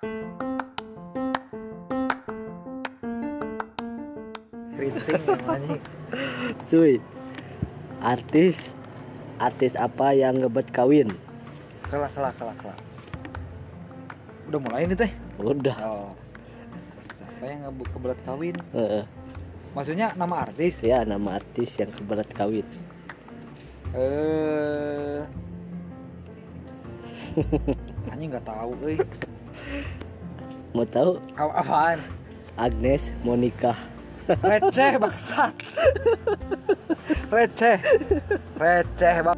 Keriting namanya. Cuy, artis apa yang ngebet kawin? Kelak. Udah mulai nih teh. Udah. Oh. Siapa yang kebelet kawin? Heeh. Maksudnya nama artis? Ya, nama artis yang kebelet kawin. Anjing nggak tahu, euy. Mau tahu? Apaan? Agnes Monica. Receh bangsat. Receh bang.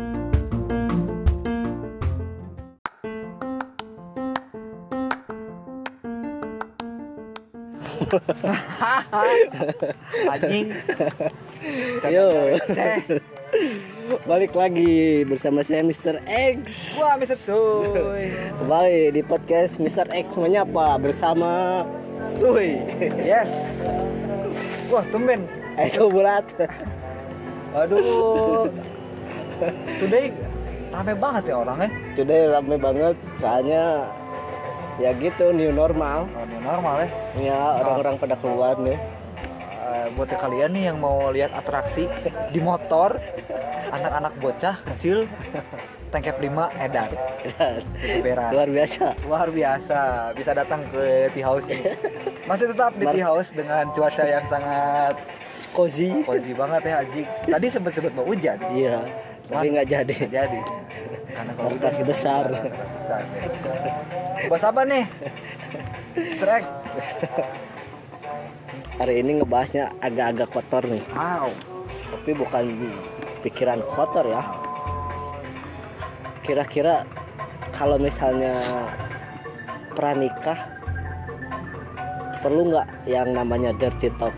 Anjing. Yo. Receh. Balik lagi bersama saya Mr. X. Wah, Mr. Suy. Kembali di podcast Mr. X menyapa bersama Suy. Yes. Wah, tumben. Itu bulat. Aduh. Today rame banget ya orangnya. Today rame banget soalnya ya gitu new normal. Oh, ini normal ya. Ya orang-orang pada keluar nih. Buat kalian nih yang mau lihat atraksi di motor, anak-anak bocah kecil tangkep 5 edan. Beran. Luar biasa. Bisa datang ke Tea House nih. Masih tetap di Tea House dengan cuaca yang sangat cozy banget ya anjing. Tadi sempet mau hujan. Iya, tapi nggak jadi. Karena kalau Batas besar. Ya. Bahas apa nih? Trek. Hari ini ngebahasnya agak-agak kotor nih. Wow. Tapi bukan pikiran kotor ya. Kira-kira kalau misalnya pranikah perlu nggak yang namanya dirty talk?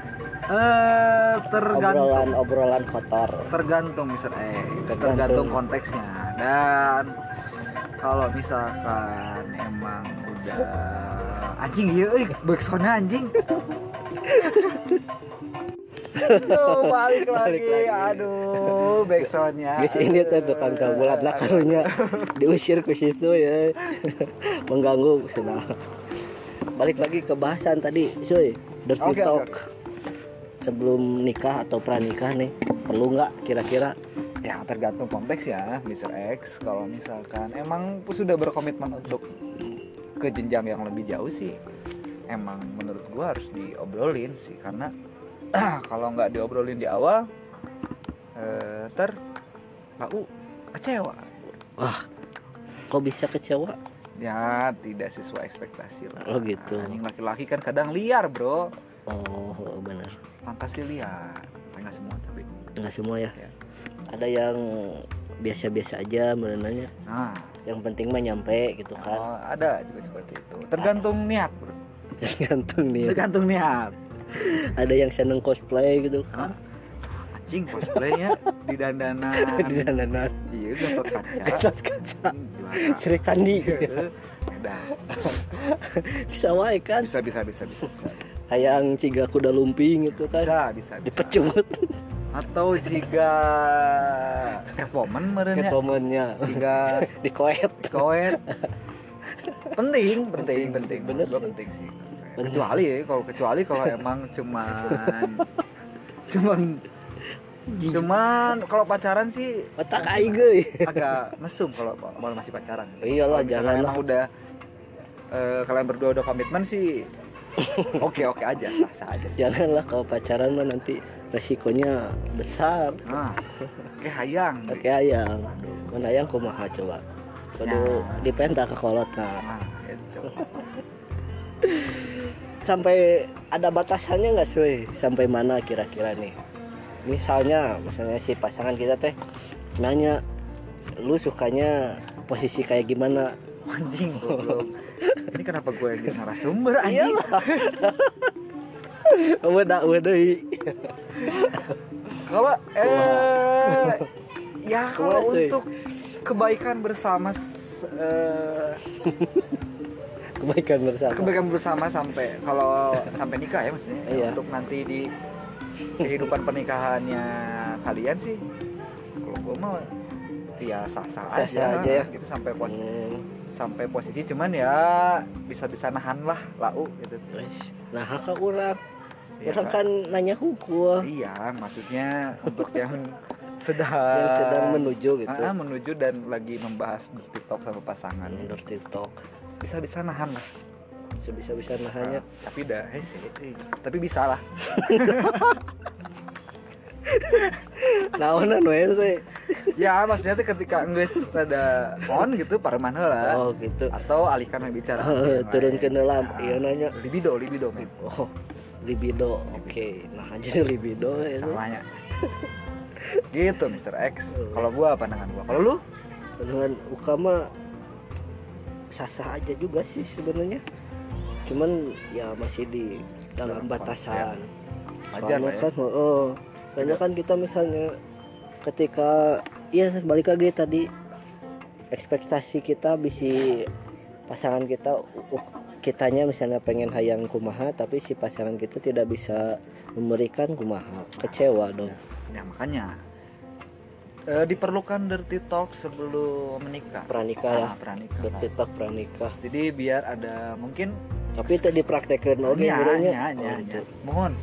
Tergantung. Obrolan kotor. Tergantung Mr. Tergantung konteksnya. Dan kalau misalkan emang udah anjing iya backsoundnya anjing. Tuh balik lagi. Aduh backsoundnya. Guys ini tuh tukang bulat karunya diusir ke situ ya. Mengganggu sudah. Balik lagi ke bahasan tadi, Suy. Dirty talk. Okay. Sebelum nikah atau pranikah nih, perlu nggak kira-kira? Ya tergantung konteks ya, Mr. X. Kalau misalkan emang sudah berkomitmen untuk ke jenjang yang lebih jauh sih, emang menurut gua harus diobrolin sih. Karena kalau nggak diobrolin di awal, lalu kecewa. Wah, kok bisa kecewa? Ya tidak sesuai ekspektasi lah. Oh gitu. Anjing laki-laki kan kadang liar bro. Oh benar. Fantasi liar. Enggak semua tapi. Enggak semua ya. Ada yang biasa-biasa aja menurutnya. Nah, yang penting mah nyampe gitu kan. Oh, ada juga seperti itu. Tergantung niat, bro. Tergantung niat. Ada yang seneng cosplay gitu kan. Anjing cosplaynya di dandanan. Iya, Gatot Kaca. Sri Kandi. Udah. Bisa wae kan? Bisa. Hayang ciga kuda lumping gitu kan. Bisa. Dipecut. Atau jika Catwoman merenya. Catwoman-nya. Jika dikoet. Penting. Bener sih. Penting sih. Kecuali kalau emang cuman kalau pacaran sih otak aing euy. Agak mesum kalau masih pacaran. Iyalah jangan emang udah kalian berdua udah komitmen sih. Oke aja, sah aja. Janganlah kalau pacaran mah nanti resikonya besar. Hayang. Mana hayang kumaha coba. Kudu dipenta ke kolot Gitu. Sampai ada batasannya nggak Suy? Sampai mana kira-kira nih? Misalnya si pasangan kita teh nanya, lu sukanya posisi kayak gimana? Anjing goblok. Ini kenapa gue yang narasumber anjing? Udah. Kalau ya kalau untuk kebaikan bersama kebaikan bersama sampai nikah ya maksudnya. Iya. Untuk nanti di kehidupan pernikahannya kalian sih kalau gue mah ya sah-sah aja ya gitu sampai sampai posisi, cuman ya bisa nahan lah lau gitu. Nah kakak orang Iya, kan nanya hukum iya, maksudnya untuk yang sedang menuju gitu. menuju dan lagi membahas di TikTok sama pasangan. TikTok Bisa nahan lah. sebisa nahannya. Tapi dah tapi bisa lah. Naonan we sih. Ya maksudnya tuh ketika geus rada on gitu pareman heula. Oh gitu. Atau alihkan bicara. Turun ke dalam iya nanya. Libido men. Oh libido. Oke. Nah jadi libido itu. Salahnya. Gitu Mr. X. Kalau gua pandangan gua. Kalau lu? Dengan ukama sah-sah aja juga sih sebenarnya. Cuman ya masih di dalam batasan. Wajar lah ya. Kan karena kan kita misalnya ketika ya balik lagi tadi ekspektasi kita bisa pasangan kitanya misalnya pengen hayang kumaha tapi si pasangan kita tidak bisa memberikan kumaha, kecewa dong. Ya makanya diperlukan dirty talk sebelum menikah. Pranikah ya. Pranikah. Dirty talk pranikah. Jadi biar ada mungkin tapi itu dipraktekkan oke ya. Mohon.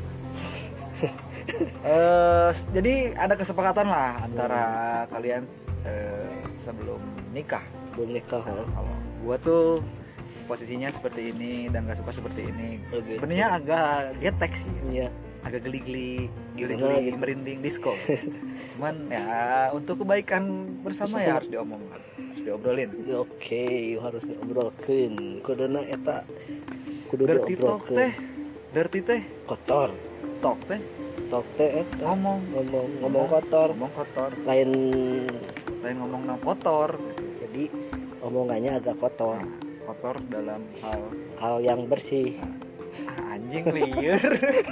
Jadi ada kesepakatan lah antara kalian sebelum nikah. Belum nikah. Kalau gua tuh posisinya seperti ini dan gak suka seperti ini. Okay. Sebenarnya agak getek sih. Iya. Agak geli-geli gitu. merinding disco. Cuman ya untuk kebaikan bersama ya harus diobrolin. Oke, harus diobrolin. Kuduna eta kudu dirty talk teh. Dirty teh kotor. Talk teh Eta ngomong kotor. Lain ngomong kotor. Jadi omongannya agak kotor. Kotor dalam hal yang bersih. Anjing liar.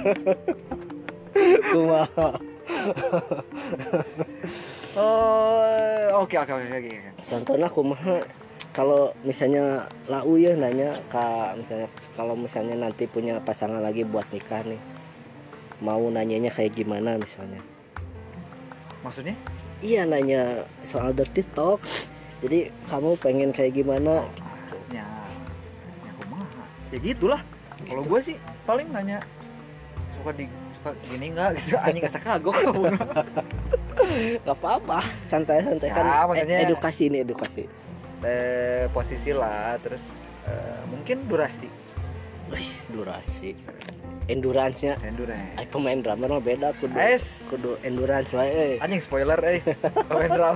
Kumaha. Oke. Contohnya kumaha kalau misalnya lau ya nanya misalnya kalau misalnya nanti punya pasangan lagi buat nikah nih. Mau nanyanya kayak gimana misalnya? Maksudnya? Iya nanya soal dirty talk. Jadi kamu pengen kayak gimana? Ya kumaha. Ya gitulah. Kalau gue sih paling nanya suka gini nggak gitu. Anjing nggak kagok kamu. Gak apa-apa. Santai ya, kan. Maksudnya, edukasi. Posisi lah. Terus mungkin durasi. Durasi. Endurance-nya. Pemain drummer mah beda kudu endurance wae. Anjing spoiler pemain drum.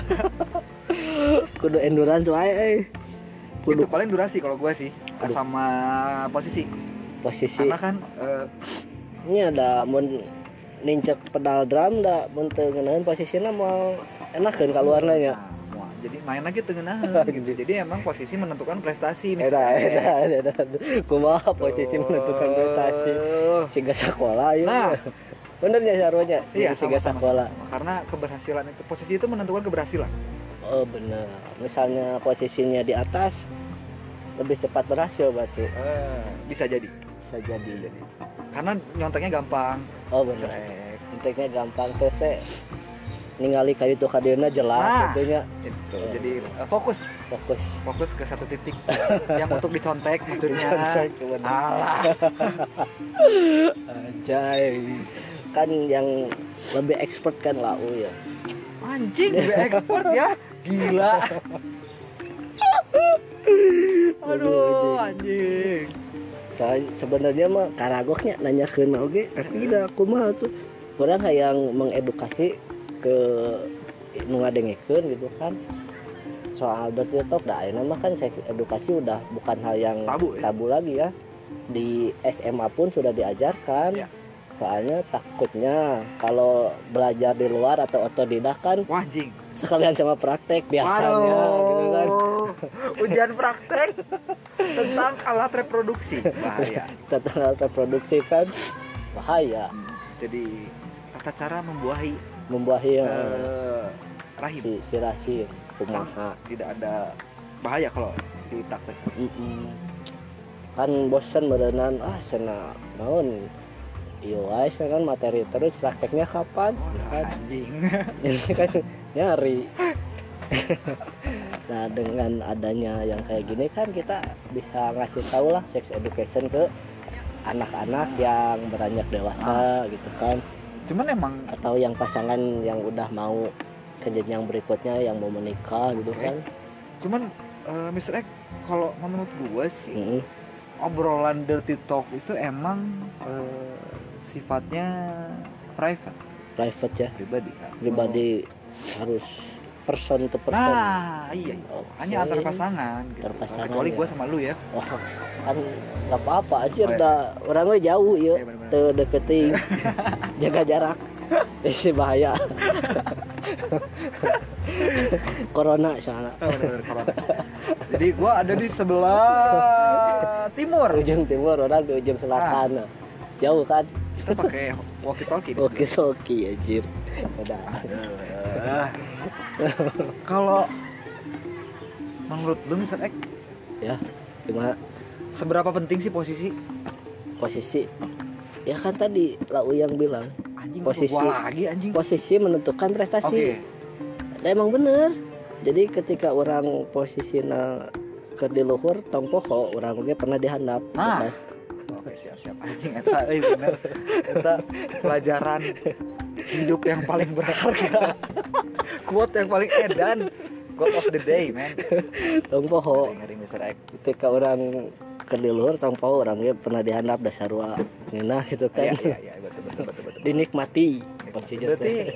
Kudu endurance wae. Kudu itu paling durasi kalau gua sih sama posisi. Karena kan ini ada mun nincek pedal drum da mun teu ngeunaheun posisina mau enakeun kaluarna nya. Jadi main lagi tengah gitu. Jadi emang posisi menentukan prestasi misalnya. Eta. Kumaha posisi menentukan prestasi. Siga sekolah ya. Nah, benernya sarwanya. Iya, siga sekolah. Karena keberhasilan itu posisi itu menentukan keberhasilan. Oh, benar. Misalnya posisinya di atas lebih cepat berhasil berarti. Bisa jadi. Karena nyonteknya gampang. Oh, benar. Nyonteknya gampang terus teh ningali kayu tuh kadena jelas tentunya itu. Jadi fokus ke satu titik yang untuk dicontek maksudnya. Alah. Anjay. Kan yang lebih expert kan lau ya. Anjing lebih expert ya. Gila. Aduh anjing. Sebenarnya mah karagoknya nanyakeun oge tapi da kumaha tuh. Orang yang mengedukasi ke nu ngadengikeun gitu kan soal dirty talk ayeuna mah kan edukasi udah bukan hal yang tabu lagi ya. Di SMA pun sudah diajarkan ya. Soalnya takutnya kalau belajar di luar atau otodidak kan wajing sekalian sama praktek biasanya gitu kan. Ujian praktek tentang alat reproduksi bahaya. Tentang alat reproduksi kan bahaya. Jadi tata cara membuahi rahim si rahim kumaha tidak ada bahaya kalau dipraktekkan. Kan bosan berenang sana naon iyo guys kan materi terus prakteknya kapan anjing ini kan nyari Nah dengan adanya yang kayak gini kan kita bisa ngasih tahu lah sex education ke anak-anak yang beranjak dewasa gitu kan, Cuman emang atau yang pasangan yang udah mau ke jenjang berikutnya yang mau menikah gitu Oke. kan. cuman Mr. X kalau menurut gue sih Mm-mm. obrolan dirty talk itu emang sifatnya private, Private ya, pribadi kan. pribadi harus person to person. Nah, iya. Oke. Hanya antar pasangan gitu. Antar pasangan, Kecuali ya. gue sama lu ya. Oh, kan nggak apa-apa anjir, Oh, iya. dah orangnya jauh ya, Iya, bener-bener. tuh deketin, jaga jarak, isi bahaya. Corona soalnya. Oh, bener-bener corona. Jadi gue ada di sebelah timur. Ujung timur, orang di ujung selatan. Jauh kan? Kita pakai walkie talkie. Oke soki anjir. Udah. Kalau menurut lu Mr. X, Ya, gimana seberapa penting sih posisi? posisi? Ya kan tadi Lau yang bilang Anjing posisi gua lagi anjing. posisi menentukan prestasi. Oke. Nah, emang bener. Jadi ketika orang posisinya ke di luhur tong poho, orang ge pernah dihandap. Nah. gitu kan. Oke, siap-siap anjing eta bener. Eta pelajaran hidup yang paling berharga. Quote yang paling edan. Quote of the day, man. Tong poho. Ngeri Mr. X. Ketika orang ke di luhur tong poho, orang ge pernah dihandap da sarua ngeunah gitu kan. Iya, betul. Dinikmati. Persija Berarti teh.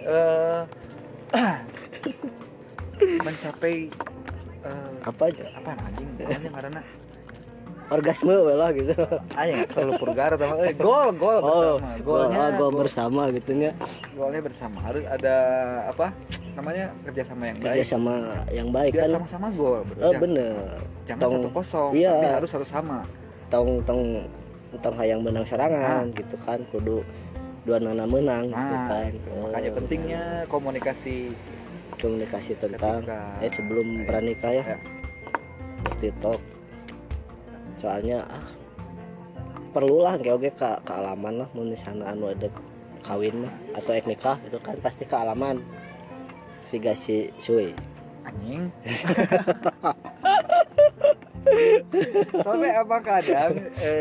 Mencapai Apa aja? apa anjing namanya karena Orgasme we lah gitu. aja nggak terlalu purgar sama gol bersama golnya gol bersama gitu nya. golnya bersama harus ada apa namanya kerjasama yang Kerja baik sama yang baik biar kan. sama-sama gol bro. Oh bener. Jangan 1-0 Iya. tapi harus sama Tong hayang menang serangan gitu kan, kudu dua nana menang gitu kan. gitu. Makanya pentingnya komunikasi komunikasi tentang ketika sebelum pranikah ya. Ya. Dirty talk. Soalnya perlulah oge kealaman lah mun misalnya anu ada kawin mah atau ek nikah itu kan pasti kealaman siga si suy. Anjing. Tapi apa kadang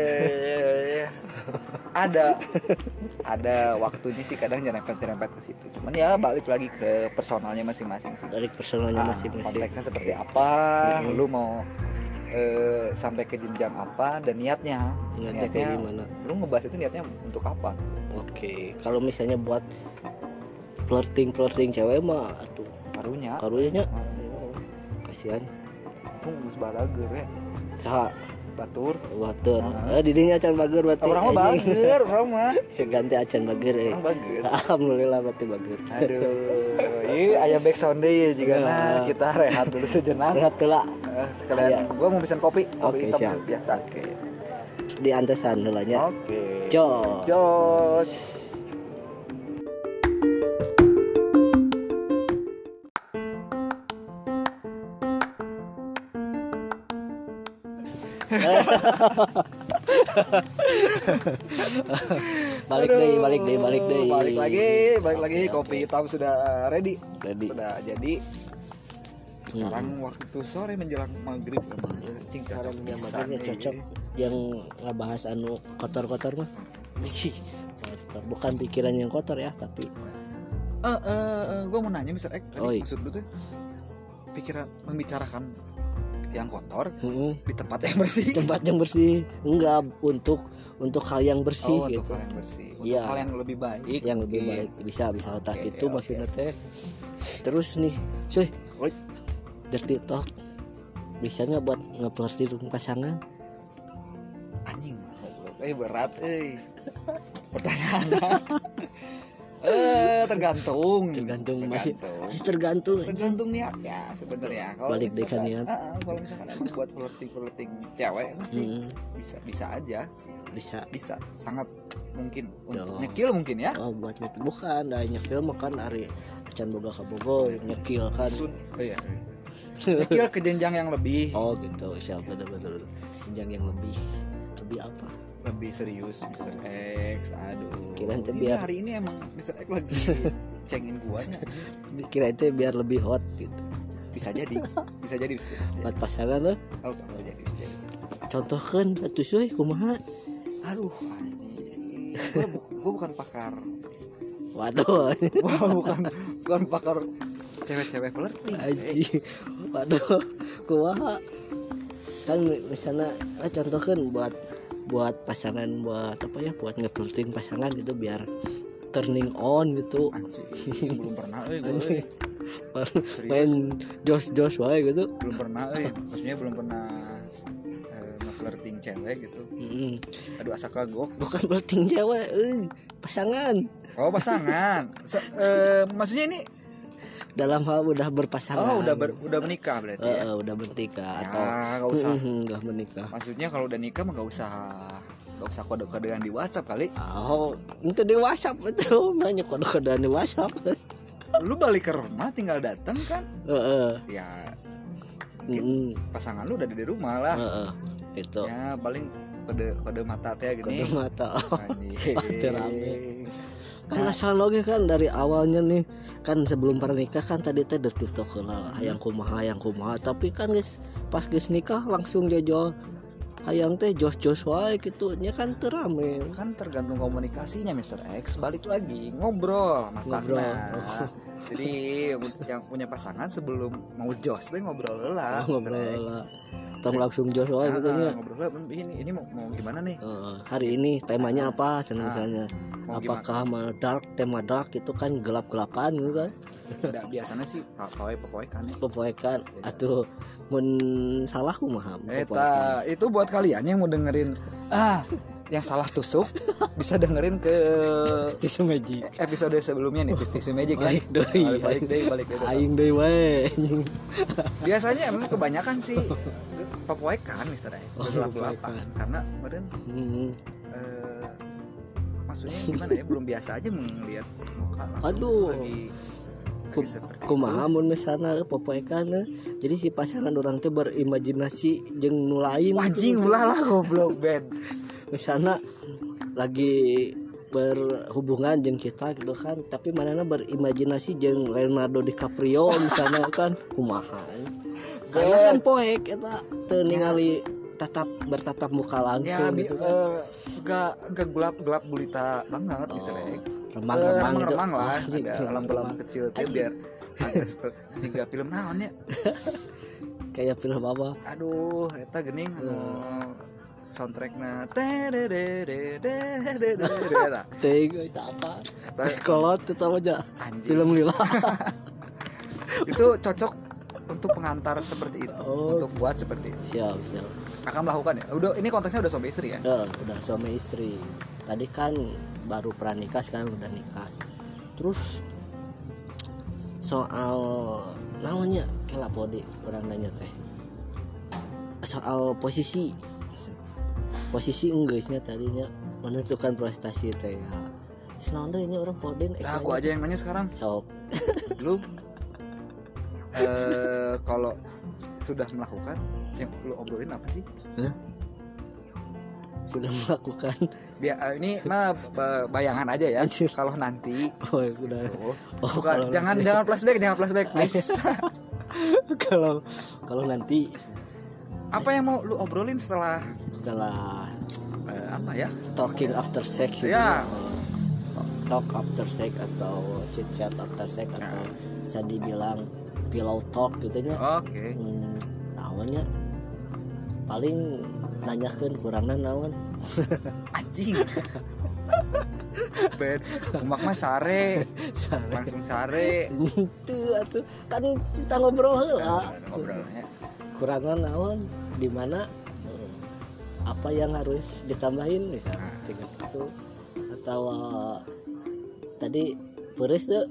ada waktunya sih kadang nyerempet ke situ. Cuman ya balik lagi ke personalnya masing-masing sih. Dari personalnya masing-masing. Konteksnya seperti apa, lu mau sampai ke jenjang apa dan niatnya kayak gimana? Lu ngebahas itu niatnya untuk apa? Oke, kalau misalnya buat flirting cewek mah atuh Karunya karunya kasihan. Tunggu sebalager ya. Saha Batur. water. Didinya acan bager berarti. Orang mah bager, orang mah. Saya ganti acan bager Orang bager. Alhamdulillah berarti bager. Aduh, ini aya backsound deui jigana kita rehat dulu sejenak. Rehat heula. Sekalian gua mau pesan kopi Oke, hitam siap. biasa. Oke. Di antesan heula nya. Oke. Jos. Jos. Balik deh. Balik lagi kopi hitam sudah ready. Sudah jadi. Sekarang waktu sore menjelang maghrib memang cing Cara cocok makanya cocok yang ngebahas anu kotor-kotor mah. Kotor. Bukan pikiran yang kotor ya, tapi gue mau nanya Mr. X tadi Oi. maksud lu tuh pikiran membicarakan yang kotor heeh, di tempat yang bersih. tempat yang bersih. Enggak untuk hal yang bersih Untuk gitu. hal yang bersih, untuk Iya. hal yang lebih baik. Yang lebih Oke. baik bisa otak Oke, itu oke. maksudnya teh. Terus nih, cuy, Oi. dirty talk bisa nggak buat nge-flirting pasangan? Anjing, berat, pertanyaan. Tergantung masih tergantung tergantung niatnya sebenarnya. Kalau Balik deh misalkan- ke niat. Kalau misalkan emang buat flirting cewek sih bisa aja sih. Bisa sangat mungkin untuk Yo. nyekil mungkin ya. Oh buat nyekil bukan, dah nyekil mah kan ari acan boga ka bogo nyekil kan. Iya. Nyekil ke jenjang yang lebih Oh gitu, siapa bener-bener jenjang yang lebih apa? lebih serius Mr. X. Aduh. Kirain teh Ini biar- hari ini emang Mr. X lagi cengin gua nya. Kira itu biar lebih hot gitu. bisa jadi. Buat pasangan loh. Oh, bisa jadi. Contohkan atuh seuy kumaha? Aduh, anjing. Gua bukan pakar. Waduh. bukan pakar cewek-cewek flirting. Anjing. Waduh. Kumaha? Kan misalnya contohkan buat pasangan, buat apa ya, buat nge-flirting pasangan gitu biar turning on gitu. Anjing, belum pernah Anjing. Main jos wae gitu. Belum pernah maksudnya belum pernah nge-flirting cewek gitu. Aduh asa kagok. Bukan flirting cewek, pasangan. Oh, pasangan. Maksudnya ini dalam hal udah berpasangan. Oh, udah menikah berarti ya. Udah menikah ya, atau enggak usah. Enggak menikah. Maksudnya kalau udah nikah mah enggak usah kode-kodean di WhatsApp kali. Oh, itu di WhatsApp itu, banyak kode-kodean di WhatsApp. Lu balik ke rumah tinggal datang kan? Ya. Pasangan lu udah di rumah lah. Itu. Ya, paling kode mata teh gini. Kode mata. Anjing. Kan asal loge kan dari awalnya nih kan sebelum pernikah kan tadi teh deket lah hayang kumaha tapi kan guys pas guys nikah langsung jojo hayang teh jos wae gitu nya kan terame kan tergantung komunikasinya Mr. X. Balik lagi ngobrol matanya. Jadi yang punya pasangan sebelum mau jos deh ngobrol lah. Tong langsung jos wae gitu nya. Ngobrol ini mau gimana nih? Hari ini temanya apa misalnya? Apakah tema dark itu kan gelap-gelapan gitu kan? Udah biasanya sih pepoekan atuh mun salah kumaha itu buat kalian yang mau dengerin yang salah tusuk bisa dengerin ke Tisu Magic episode sebelumnya nih Tisu Magic ya. Balik deh aing deui wae. Biasanya emang kebanyakan sih pepoekan Mister gelap-gelapan karena kemarin maksudnya gimana ya, belum biasa aja melihat muka aduh lagi kumaha mun misalna popoekan jadi si pasangan orang teh berimajinasi jeung nu lain anjing ulah lah goblok Ben. Misalna lagi berhubungan jeung kita gitu kan tapi manehna berimajinasi jeung Leonardo DiCaprio misalnya kan kumaha karena kan poek eta teu ningali bertatap muka langsung ya, gitu kan enggak gelap gulita banget Mister X. Remang gitu. Remang lah ada lampu-lampu kecil teh biar agak seperti tiga film naon ya kayak film apa aduh eta geuning soundtrackna itu apa kolot itu aja film lila itu cocok untuk pengantar seperti itu untuk buat seperti itu siap akan melakukan ya udah ini konteksnya udah suami istri ya udah suami istri tadi kan baru pranikah sekarang udah nikah terus soal namanya kelapodi orang nanya teh soal posisi enggeusnya tadinya menentukan prestasi teh ya senang deh ini orang podin aku aja yang nanya sekarang sok lu kalau sudah melakukan yang lu obrolin apa sih? Sudah melakukan ini mah bayangan aja ya kalau nanti udah bukan jangan flashback please. kalau nanti apa yang mau lu obrolin setelah apa ya talking after sex gitu ya talk after sex atau chit chat after sex atau bisa dibilang pillow talk gitu nya naonnya paling nanyakeun kurangna naon anjing Ben umak mah sare langsung sare itu atuh kan kita ngobrol heula ngobrolnya kurangna naon di mana apa yang harus ditambahin misalnya gitu atau tadi puris tuh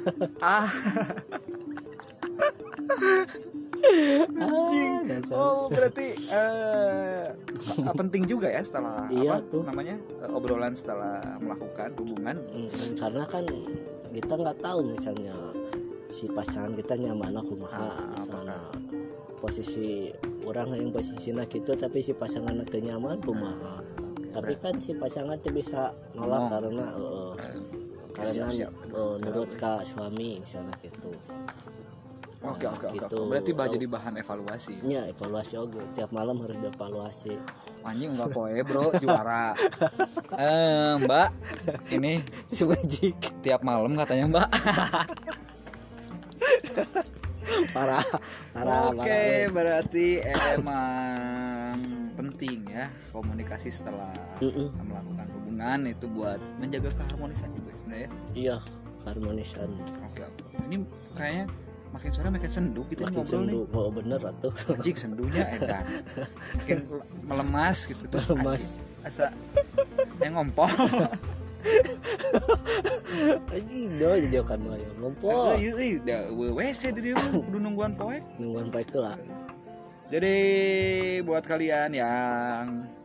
berarti penting juga ya setelah iya, apa tuh namanya obrolan setelah melakukan hubungan karena kan kita nggak tahu misalnya si pasangan kita nyaman kumaha misalnya posisi orang yang posisinya gitu tapi si pasangan itu nyaman kumaha tapi kan si pasangan itu bisa nolak karena siap. nurut ke suami misalnya gitu Oke. Gitu. Berarti jadi bahan evaluasi. Ya evaluasi oke. Tiap malam harus dievaluasi. Anjing enggak poe bro, juara. Mbak, ini Si Magic tiap malam katanya Mbak. parah. Oke, berarti emang penting ya komunikasi setelah melakukan hubungan itu buat menjaga keharmonisan juga sebenarnya. Iya, harmonisan. Oke. Ini kayaknya makin sore makin sendu gitu Makin ngobrol sendu. nih. Oh bener atuh. Anjing sendunya edan. Makin melemas gitu tuh. Melemas. Asa yang ngompol. Anjing do jajokan mah ya. Ngompol. Ieu da WC di dieu kudu nungguan poe. Nungguan pae heula. Jadi buat kalian yang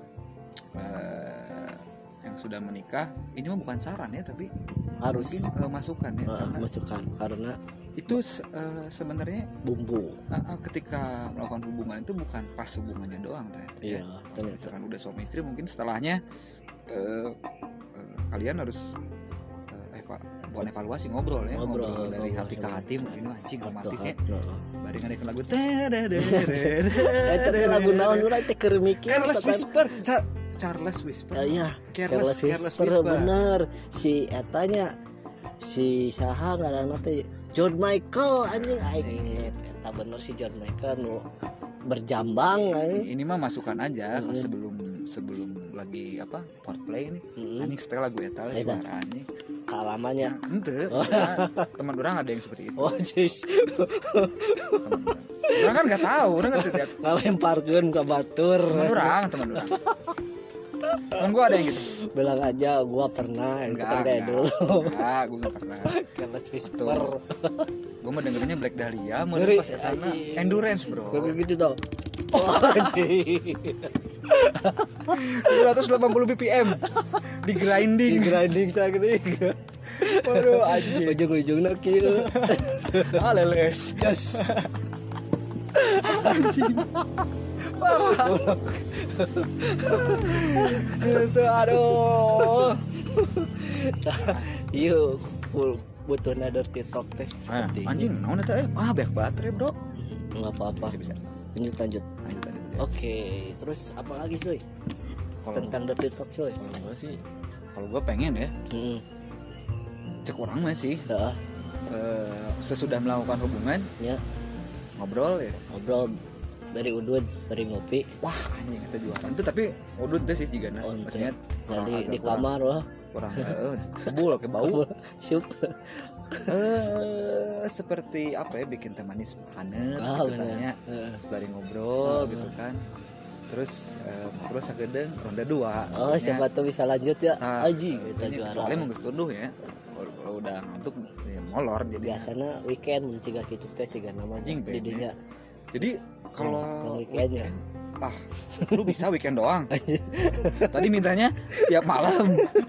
sudah menikah, ini mah bukan saran ya, tapi Harus mungkin masukan ya. Karena masukan karena itu sebenarnya bumbu. ketika melakukan hubungan itu bukan pas hubungannya doang ternyata. Iya, ternyata. Misalkan udah suami istri, mungkin setelahnya kalian harus bukan evaluasi, ngobrol ya, ngobrol dari hati ke hati. Mungkin anjing romantis ya. Bari ngadekeun lagu Eta teh lagu naon urang teh keur mikir. Careless Whisper. Charles Whisper. Iya, Careless Whisper bener. Si etanya si saha ngaranna teh John Michael anjing aing eta bener si John Michael nu berjambang anjing. Ini mah masukan aja sebelum lagi foreplay nih. Anjing setel lagu eta lah anjing. Kalamannya. Henteu. Teman orang ada yang seperti itu. Oh, jis. Orang kan enggak tahu, orang ngerti tiap Ngalemparkeun ka batur. teman orang. Temen gue ada yang gitu. Bilang aja gua pernah itu kan kayak dulu. Enggak, gue gak pernah. Careless Whisper. Gue mah dengerinnya Black Dahlia, mau Ngeri, pas etana endurance bro. Kayak gitu toh. Oh, anjing. 280 BPM di grinding. Cagring. Waduh anjing. Ujung-ujungna kieu. Leles. Yes. Anjing. Parah. Itu aduh. Yuk, butuh dirty talk teh seperti anjing naon eta banyak baterai bro. Enggak apa-apa. Bisa. Lanjut. Oke, terus apa lagi Soy? Tentang dirty talk Soy. Kalau gue pengen ya, cek orang mah sih. Sesudah melakukan hubungan, Ya, ngobrol dari udud, dari ngopi. Wah anjing itu juara itu, tapi udut teh sih juga Oh, maksudnya di kamar wah. kurang bul ke bau. Siup. Seperti apa ya, bikin teh manis hangat gitu bener. tanya bari ngobrol gitu kan, terus ngobrol sagedeung ronde 2. Oh, siapa tuh bisa lanjut ya. Aji kita ini juara. soalnya menggeus tuduh ya, kalau udah ngantuk ya molor jadi Biasanya weekend mencegah kitu teh ciga nama Anjing, di dinya. jadi kalau weekendnya lu bisa weekend doang. Tadi mintanya tiap malam.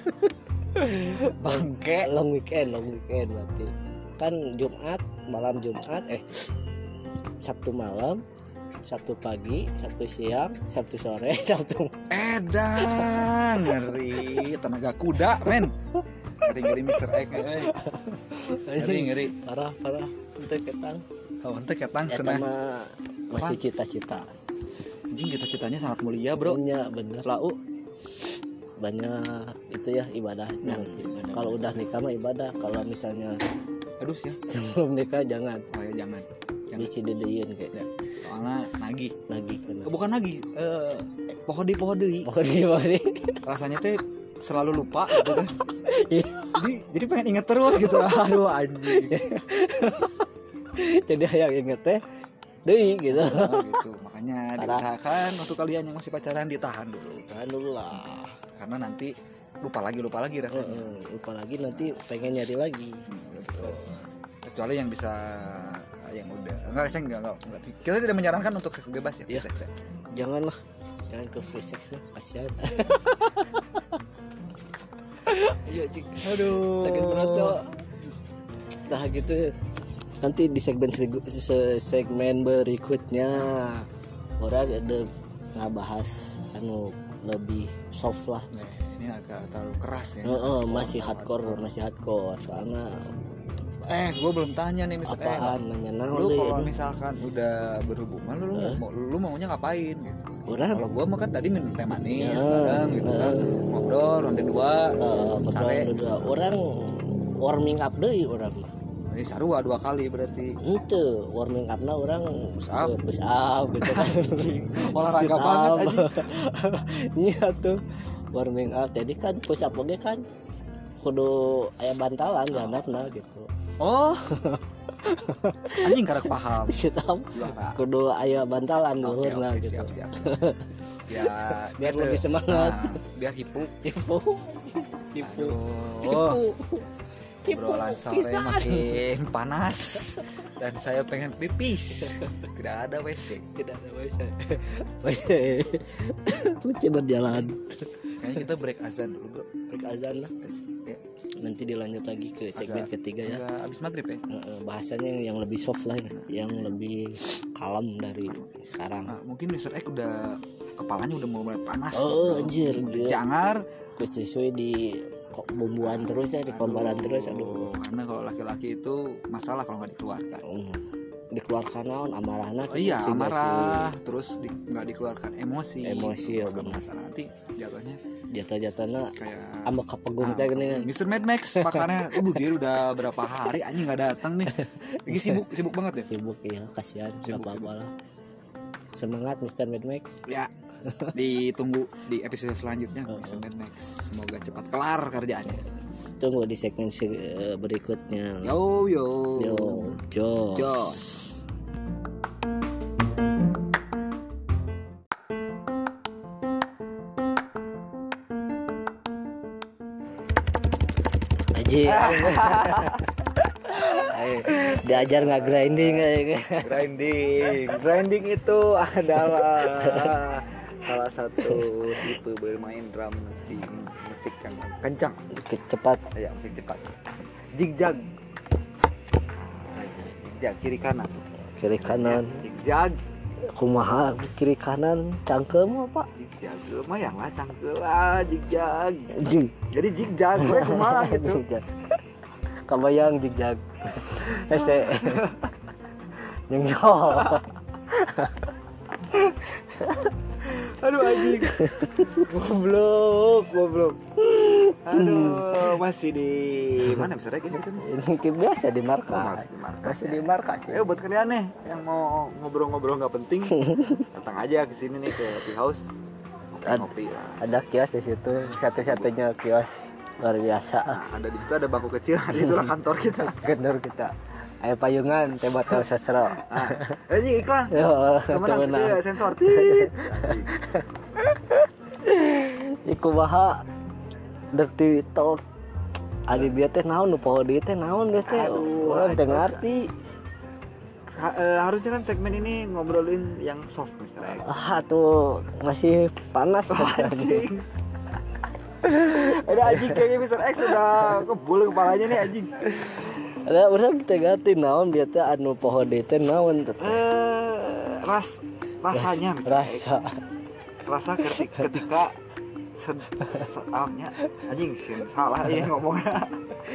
Bangke. long weekend berarti. Kan malam Jumat Sabtu malam, Sabtu pagi, Sabtu siang, Sabtu sore, Sabtu. Edan, ngeri tenaga kuda, men. Ngeri Mr. Egg. Ngeri. Parah. Untuk ketang. Kawan teh ketang Eta senah. mah masih cita-cita. Anjing cita-citanya sangat mulia, bro. Punya bener. Lau. Banyak itu ya ibadahnya. Kalau udah nikah mah ibadah. Kalau misalnya Aduh sih. sebelum nikah jangan. Oh ya jangan. Bisi dedein kayak. Ya. Soalnya nagih. Bener. Bukan nagih. Pohodi. Pokoknya Rasanya teh selalu lupa gitu kan. jadi pengen inget terus gitu. Aduh anjing. jadi yang inget teh deui gitu. Gitu. Makanya diusahakan untuk kalian yang masih pacaran ditahan dulu. Tahan dulu lah. Karena nanti lupa lagi rasanya. Lupa lagi nanti pengen nyari lagi. Gitu. Kecuali yang bisa yang udah enggak. Kita tidak menyarankan untuk seks bebas ya. Iya. Jangan ke free sex lah, kasihan. Iya cik. Aduh. Sakit perut cok. Nah gitu. Nanti di segmen berikutnya orang ada ngebahas lebih soft lah. Nah, ini agak terlalu keras ya. Masih hardcore soalnya Gue belum tanya nih Mr. Apaan nanya naon Lu deui kalau ini? misalkan udah berhubungan lu maunya ngapain gitu. Urang Kalau gua mah kan tadi minum teh manis Ya, bareng gitu kan. Ngobrol ronde 2. ngobrol dua orang warming up deui urang mah. Sarua 2 kali berarti. Henteu, warming up-na urang push up gitu kan. Olahraga banget anjing. Iya tuh. Warming up. Jadi kan push up oge kan kudu aya bantalan ya anakna gitu. Oh. Anjing karek paham. Sit up Juara. kudu aya bantalan luhurna gitu. Siap. Ya, Biar gitu. lebih semangat. Biar hipuk. Hipu. Oh. Obrolan sore makin panas dan saya pengen pipis. Tidak ada WC. WC berjalan. Kayaknya kita break azan dulu, Bro. Break azan lah. Ya, Nanti dilanjut lagi ke segmen ketiga ya. agak abis maghrib ya. Bahasanya yang lebih soft lah ini, yang lebih kalem dari sekarang. Nah, mungkin Mr. X udah kepalanya udah mulai panas. Anjir dia Jangar. sesuai di bumbuan terus ya, di komparan terus. Aduh, Karena kalau laki-laki itu masalah kalau nggak dikeluarkan. dikeluarkan naon amarahna Iya, amarah, terus nggak dikeluarkan emosi. Ya benar. Masalah nanti jatuhnya jatuh-jatuhna kayak ambek kapegung teh gini. Mr. Mad Max pakarnya dia udah berapa hari anjing nggak datang nih. Lagi sibuk banget ya. Sibuk ya, kasihan enggak apa-apa lah. Semangat Mr. Mad Max. Ya, ditunggu di episode selanjutnya Mr. Mad Max. Semoga cepat kelar kerjaannya. Tunggu di segmen berikutnya. Yo. Jos. Aji. Diajar nggak grinding kayaknya. Grinding itu adalah salah satu tipe bermain drum di musik yang kencang, Cepat. ya musik cepat. Jigjag, kiri kanan, jigjag, Kumaha kiri kanan cangkem apa? jigjag, lumayan lah cangkel lah jigjag. Jing. Jadi jigjag, gue kumaha gitu. Kabayang jigjag. Ese. Nyengso. Aduh anjing. Goblok. Aduh, masih di mana bisa lagi gitu? Ini biasa di markas. Masih di markas. Ya buat kalian nih yang mau ngobrol-ngobrol nggak penting, datang aja ke sini nih ke Tea House. Ngopi lah. Ada kios di situ, satu-satunya kios luar biasa. Nah, ada di situ ada bangku kecil, itulah kantor kita. Kantor kita. Ayo payungan, teh botol sasro. Ini iklan. Yo, Temenan temenan. ya sensor tit. Iku baha dirty talk. Adi dia teh naon nu poho dieu teh naon dia teh. Urang teu ngarti. Harusnya kan segmen ini ngobrolin yang soft misalnya. Tuh masih panas Anjing. Ada anjing kayaknya Mr. X sudah kebul kepalanya nih anjing. Ada urang teh ganti naon dia teh anu poho dieu teh naon teh. Rasanya misalnya. Rasa ketika anjing sih salah ya ngomongnya.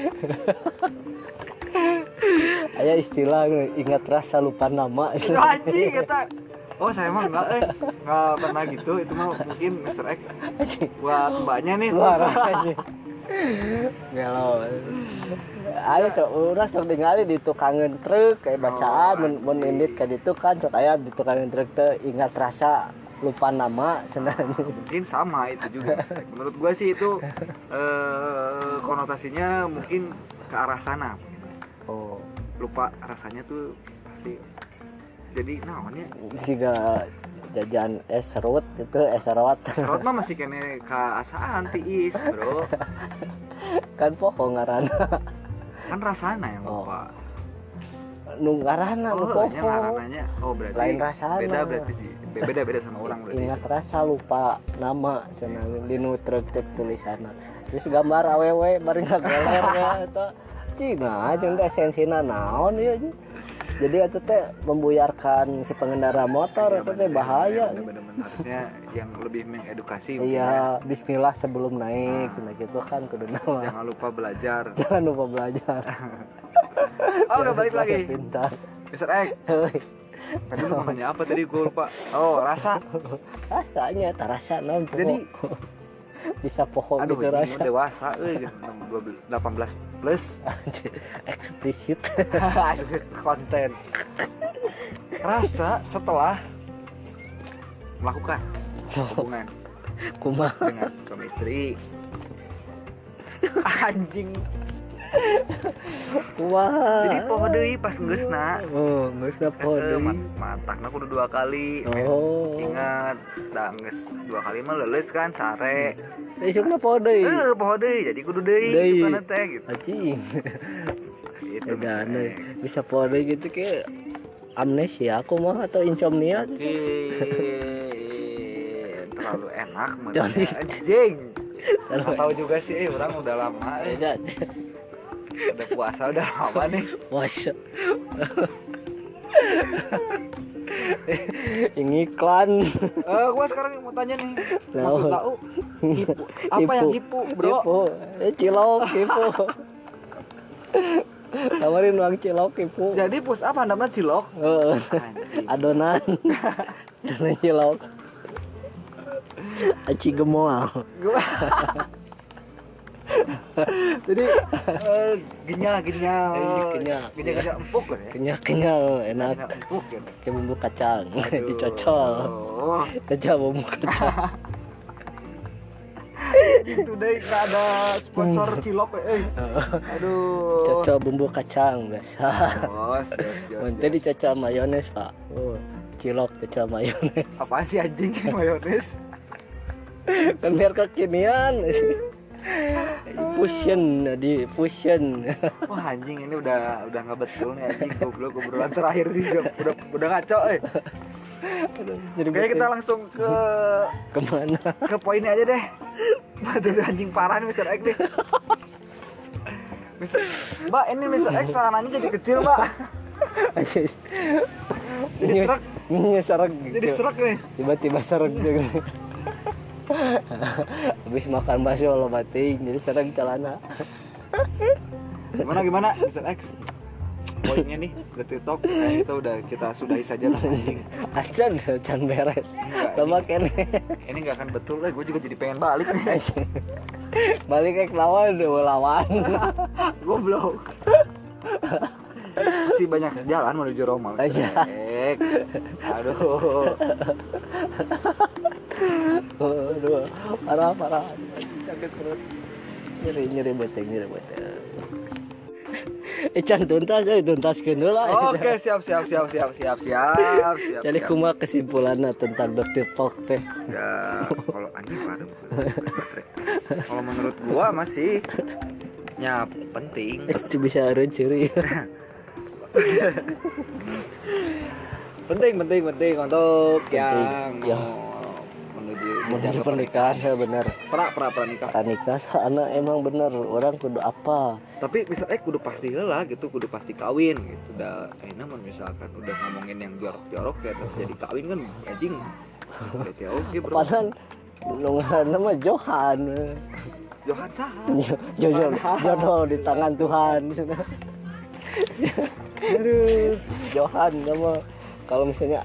Aya istilah ingat rasa lupa nama. Anjing kita. Oh saya mah enggak pernah gitu. Itu mah mungkin Mr. X buat mbaknya nih. Luar aja. Galau. Ayo urang sok ningali di tukangan truk kayak bacaan mun indit ka ditu kan sok aya di tukangan truk teh ingat rasa lupa nama sebenarnya. Mungkin sama itu juga. Menurut gua sih itu konotasinya mungkin ke arah sana. Oh, lupa rasanya tuh pasti jadi namanya siga jajan es serut itu es serut. serot mah masih kene kaasaan tiis bro Kan poho ngaranna. kan rasana yang lupa. Nu ngaranna nu poho. Ngarananya berarti lain rasana. berarti sih beda sama orang berarti. Ingat rasa lupa nama cenah di nu truk tulisanna. Terus gambar awewe bari ngageler eta. Cina jeung teh esensina naon ieu. Jadi itu teh membuyarkan si pengendara motor itu teh bahaya. Bener-bener harusnya yang lebih mengedukasi. Iya, bismillah sebelum naik, gitu kan kudu nama. Jangan lupa belajar. Jangan lupa belajar. Oke, balik lagi. Pintar. Mr. X. Tadi lu mau nanya apa tadi gue lupa. Oh, rasa. Rasanya terasa non. Jadi bisa pohon aduh, gitu ini rasa. dewasa euy 18 plus. Eksplisit. Konten. Rasa setelah melakukan hubungan Kumaha. dengan suami istri. Anjing. Kumaha. Jadi poho deui pas geusna. Oh, geusna poho deui. Matakna kudu 2 kali. Oh. Ingat, da geus 2 kali mah leuleus kan sare. Isukna poho deui. Poho deui, jadi kudu deui sukana teh gitu. Anjing. Gitu. Edan bisa poho deui gitu ke amnesia aku mah atau insomnia. Terlalu enak menurut anjing. Nggak tahu juga sih, orang udah lama. Udah puasa udah lama nih. Puasa. Ini iklan. Gua sekarang mau tanya nih. Maksud tahu hipu. Apa yang hipu, bro? Hipu. Cilok hipu. Tawarin uang cilok hipu. Jadi pus apa namanya cilok? Adonan. Adonan cilok. Aci gemoal. Jadi ginyal empuk kan ya? Kenyal enak. Empuk ya. Kayak bumbu kacang dicocol. Kacang bumbu kacang. Itu deh nggak ada sponsor cilok aduh. Cocol bumbu kacang biasa. Siap. Nanti dicocol mayones pak. Cilok cocol mayones. Apaan sih anjing mayones? Kan biar kekinian. Fusion. Wah anjing ini udah nggak betul nih anjing, goblok obrolan terakhir ini udah ngaco Kayaknya kita langsung kemana? Ke poinnya aja deh. Batu anjing parah nih Mr. X nih. Mbak, ini Mr. X sarananya jadi kecil, Mbak. Jadi serak. Jadi serak nih. Tiba-tiba serak juga. Habis makan bakso lo bating jadi serak celana. Gimana Mr. X? Poinnya nih Dirty Talk kita sudahi saja lah anjing. Acan beres. Lama kene. Ini enggak akan betul lah, gue juga jadi pengen balik nih. Balik ke lawan. Goblok. Si banyak jalan menuju Roma. Aduh. Aduh, parah. Sakit perut. Nyeri beteng. Can tuntaskeun heula. Oke, siap. Jadi kumaha kesimpulanna tentang Dirty Talk teh? Ya, kalau anjing parah. Kalau menurut gua masih penting. Itu bisa eureun ciri. penting untuk yang menuju pernikahan ya benar. Pranikah anak emang bener orang kudu apa. Tapi misalnya kudu pasti heula gitu, kudu pasti kawin gitu. Udah misalkan udah ngomongin yang jorok-jorok ya jadi kawin kan anjing. Oke, bro. Padahal ngaranna mah Johan saha? Jodoh di tangan Tuhan. Aduh, Johan nama kalau misalnya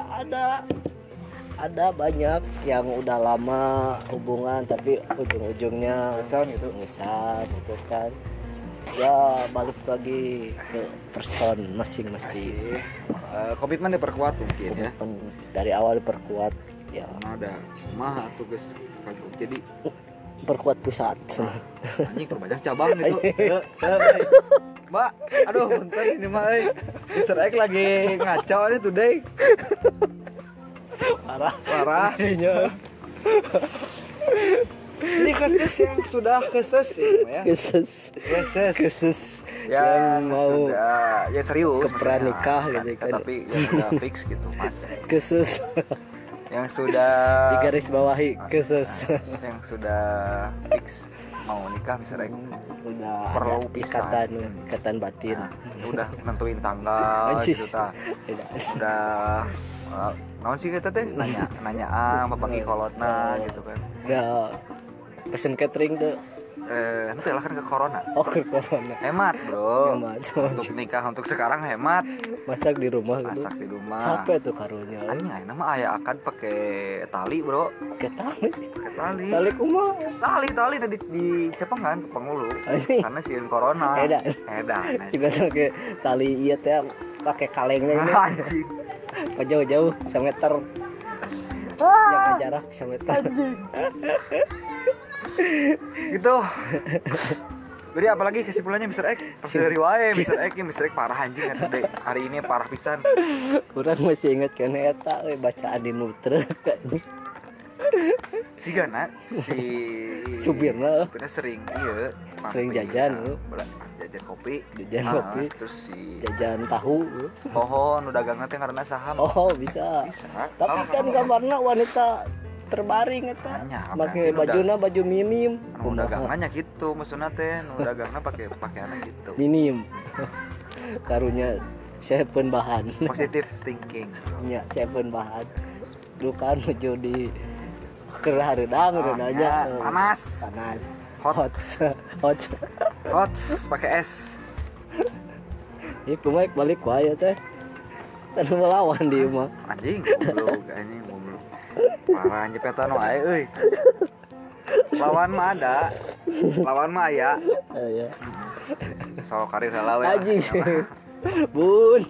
ada banyak yang udah lama hubungan tapi ujung-ujungnya ngesan gitu kan. Ya balik lagi ke person masing-masing. Komitmen diperkuat mungkin ya. Dari awal diperkuat ya. Karena ada mah tuh guys. Jadi perkuat pusat. Anjing perbanyak cabang gitu. Mbak, aduh bentar ini mah Mr. X lagi ngaco nih today. Parah. Ini kasus yang sudah keses ya. Keses yang mau sudah, ya serius ke pranikah gitu kan. Tapi yang sudah fix gitu, Mas. Keses yang sudah di garis bawahi keses. Yang sudah fix mau nikah misalnya udah perlu ikatan batin. Udah nentuin tanggal gitu ta. Udah naon sih kita teh nanya apa panggil kolotna gitu kan. Udah pesen catering tuh Nanti lah kan ke corona. Oh, ke corona. Hemat bro. Hemat. Untuk nikah untuk sekarang hemat. Masak di rumah gitu. Masak di rumah. Capek tuh karunya. Anjing ayeuna mah aya akan pakai tali bro. Pakai tali. Pakai tali. Tali kumaha? Tali di cepengan ke pangulu. Anjing. Karena sieun corona. Edan. Juga pakai tali ieu teh pakai kalengnya ini. Anjing. Jauh-jauh semeter. Jaga jarak semeter. Gitu. Jadi apalagi kesimpulannya Mr. X pas dari wae Mr. X parah anjing atuh hari ini parah pisan. Kurang masih inget kan eta bacaan di nutre. Si Gana si supirna sering jajan jajan kopi terus si jajan tahu pohon udah dagang teh karena saham. Oh bisa. Tapi kan gambarna wanita terbaring eta make baju minim udah dagangnya gitu maksudnya teh udah dagangnya pakai pakaiannya gitu minim karunya siapun bahan positive thinking nya siapun bahan lu kan menuju di kerhareudang aja panas hot pakai es ieu mah balik wae teh kan melawan di mah anjing goblok parah nyepetan wae euy. Lawan mah ada. Lawan mah aya. Aya. So karir heula we. Anjing. Bun.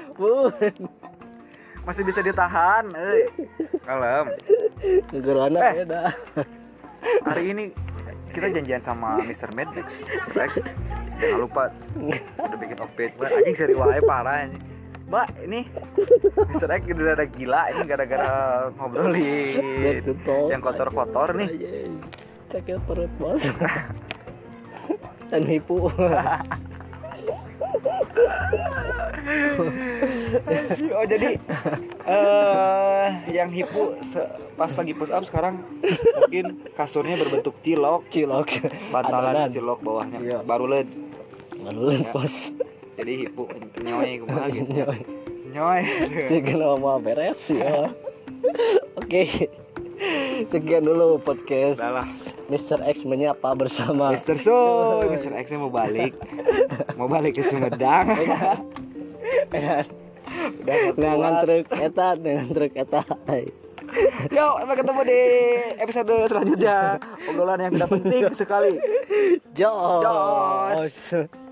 Masih bisa ditahan euy. Kalem. Gegerana beda. Hari ini kita janjian sama Mr. Medix. Rex. Jangan lupa udah bikin outfit. Anjing seri wae parah anjing. Mbak, ini Mr. X udah ada gila ini gara-gara ngobrolin yang kotor-kotor nih. Cekil perut bos. Dan hipu. Oh jadi yang hipu pas lagi push up sekarang mungkin kasurnya berbentuk cilok. Bantalan cilok bawahnya. Iya. Baruleud Bos. Jadi hipu nyoy kumaha gitu. Nyoy. Segala mau beres ya. Oke. Sekian dulu podcast Mr. X menyapa bersama Mr. Soy. Mr. X mau balik ke Sumedang. Udah dengan truk eta. Yuk, sampai ketemu di episode selanjutnya. Obrolan yang tidak penting sekali. Jos.